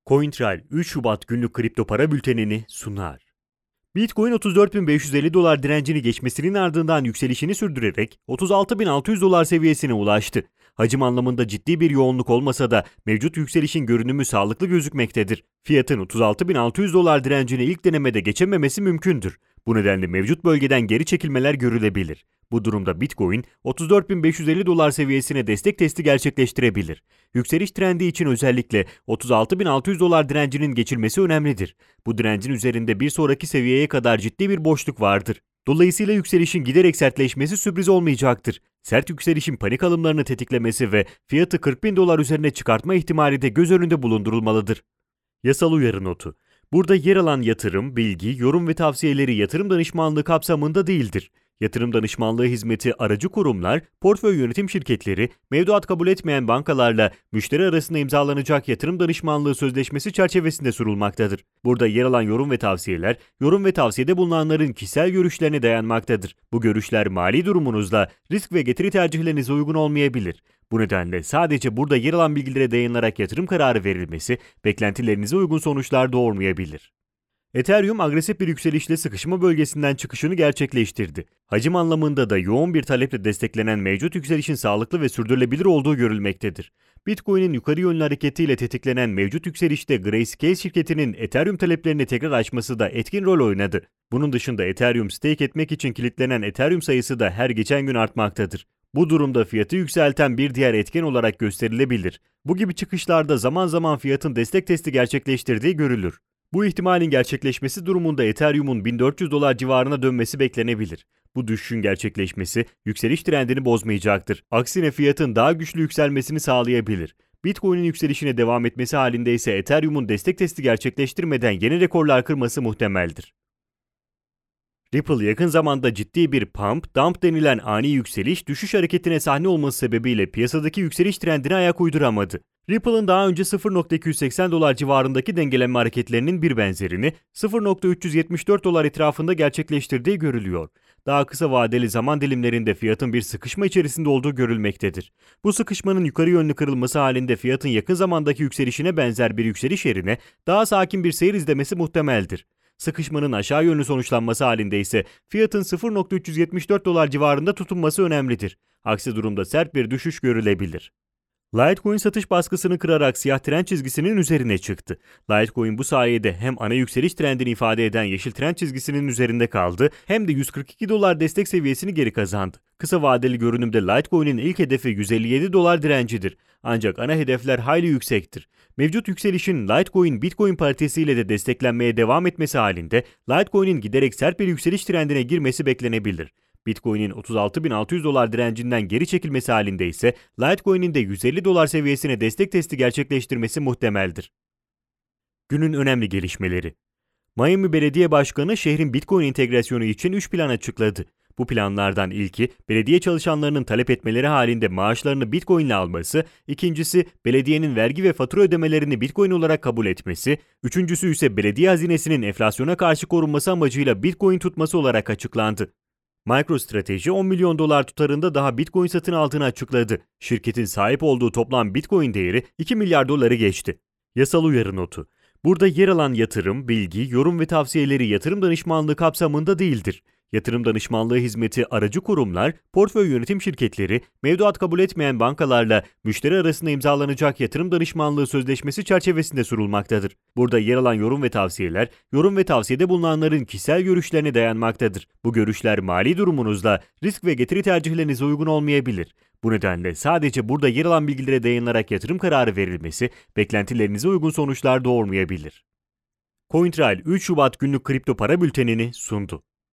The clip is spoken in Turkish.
CoinTrail 3 Şubat günlük kripto para bültenini sunar. Bitcoin 34.550 dolar direncini geçmesinin ardından yükselişini sürdürerek 36.600 dolar seviyesine ulaştı. Hacim anlamında ciddi bir yoğunluk olmasa da mevcut yükselişin görünümü sağlıklı gözükmektedir. Fiyatın 36.600 dolar direncini ilk denemede geçememesi mümkündür. Bu nedenle mevcut bölgeden geri çekilmeler görülebilir. Bu durumda Bitcoin 34.550 dolar seviyesine destek testi gerçekleştirebilir. Yükseliş trendi için özellikle 36.600 dolar direncinin geçilmesi önemlidir. Bu direncin üzerinde bir sonraki seviyeye kadar ciddi bir boşluk vardır. Dolayısıyla yükselişin giderek sertleşmesi sürpriz olmayacaktır. Sert yükselişin panik alımlarını tetiklemesi ve fiyatı 40.000 dolar üzerine çıkartma ihtimali de göz önünde bulundurulmalıdır. Yasal uyarı notu. Burada yer alan yatırım, bilgi, yorum ve tavsiyeleri yatırım danışmanlığı kapsamında değildir. Yatırım danışmanlığı hizmeti aracı kurumlar, portföy yönetim şirketleri, mevduat kabul etmeyen bankalarla müşteri arasında imzalanacak yatırım danışmanlığı sözleşmesi çerçevesinde sunulmaktadır. Burada yer alan yorum ve tavsiyeler, yorum ve tavsiyede bulunanların kişisel görüşlerine dayanmaktadır. Bu görüşler mali durumunuzla risk ve getiri tercihlerinize uygun olmayabilir. Bu nedenle sadece burada yer alan bilgilere dayanılarak yatırım kararı verilmesi, beklentilerinize uygun sonuçlar doğurmayabilir. Ethereum agresif bir yükselişle sıkışma bölgesinden çıkışını gerçekleştirdi. Hacim anlamında da yoğun bir taleple desteklenen mevcut yükselişin sağlıklı ve sürdürülebilir olduğu görülmektedir. Bitcoin'in yukarı yönlü hareketiyle tetiklenen mevcut yükselişte Grayscale şirketinin Ethereum taleplerini tekrar açması da etkin rol oynadı. Bunun dışında Ethereum stake etmek için kilitlenen Ethereum sayısı da her geçen gün artmaktadır. Bu durumda fiyatı yükselten bir diğer etken olarak gösterilebilir. Bu gibi çıkışlarda zaman zaman fiyatın destek testi gerçekleştirdiği görülür. Bu ihtimalin gerçekleşmesi durumunda Ethereum'un 1400 dolar civarına dönmesi beklenebilir. Bu düşüşün gerçekleşmesi yükseliş trendini bozmayacaktır. Aksine fiyatın daha güçlü yükselmesini sağlayabilir. Bitcoin'in yükselişine devam etmesi halinde ise Ethereum'un destek testi gerçekleştirmeden yeni rekorlar kırması muhtemeldir. Ripple yakın zamanda ciddi bir pump-dump denilen ani yükseliş düşüş hareketine sahne olması sebebiyle piyasadaki yükseliş trendine ayak uyduramadı. Ripple'ın daha önce 0.280 dolar civarındaki dengelenme hareketlerinin bir benzerini 0.374 dolar etrafında gerçekleştirdiği görülüyor. Daha kısa vadeli zaman dilimlerinde fiyatın bir sıkışma içerisinde olduğu görülmektedir. Bu sıkışmanın yukarı yönlü kırılması halinde fiyatın yakın zamandaki yükselişine benzer bir yükseliş yerine daha sakin bir seyir izlemesi muhtemeldir. Sıkışmanın aşağı yönlü sonuçlanması halinde ise fiyatın 0.374 dolar civarında tutunması önemlidir. Aksi durumda sert bir düşüş görülebilir. Litecoin satış baskısını kırarak siyah trend çizgisinin üzerine çıktı. Litecoin bu sayede hem ana yükseliş trendini ifade eden yeşil trend çizgisinin üzerinde kaldı hem de 142 dolar destek seviyesini geri kazandı. Kısa vadeli görünümde Litecoin'in ilk hedefi 157 dolar direncidir. Ancak ana hedefler hayli yüksektir. Mevcut yükselişin Litecoin Bitcoin paritesiyle de desteklenmeye devam etmesi halinde Litecoin'in giderek sert bir yükseliş trendine girmesi beklenebilir. Bitcoin'in 36.600 dolar direncinden geri çekilmesi halinde ise Litecoin'in de 150 dolar seviyesine destek testi gerçekleştirmesi muhtemeldir. Günün önemli gelişmeleri. Miami Belediye Başkanı şehrin Bitcoin entegrasyonu için 3 plan açıkladı. Bu planlardan ilki, belediye çalışanlarının talep etmeleri halinde maaşlarını Bitcoin ile alması, ikincisi belediyenin vergi ve fatura ödemelerini Bitcoin olarak kabul etmesi, üçüncüsü ise belediye hazinesinin enflasyona karşı korunması amacıyla Bitcoin tutması olarak açıklandı. MicroStrategy 10 milyon dolar tutarında daha Bitcoin satın aldığını açıkladı. Şirketin sahip olduğu toplam Bitcoin değeri 2 milyar doları geçti. Yasal uyarı notu. Burada yer alan yatırım, bilgi, yorum ve tavsiyeleri yatırım danışmanlığı kapsamında değildir. Yatırım danışmanlığı hizmeti aracı kurumlar, portföy yönetim şirketleri, mevduat kabul etmeyen bankalarla müşteri arasında imzalanacak yatırım danışmanlığı sözleşmesi çerçevesinde sunulmaktadır. Burada yer alan yorum ve tavsiyeler, yorum ve tavsiyede bulunanların kişisel görüşlerine dayanmaktadır. Bu görüşler mali durumunuzla risk ve getiri tercihlerinize uygun olmayabilir. Bu nedenle sadece burada yer alan bilgilere dayanılarak yatırım kararı verilmesi, beklentilerinize uygun sonuçlar doğurmayabilir. CoinTrail 3 Şubat günlük kripto para bültenini sundu.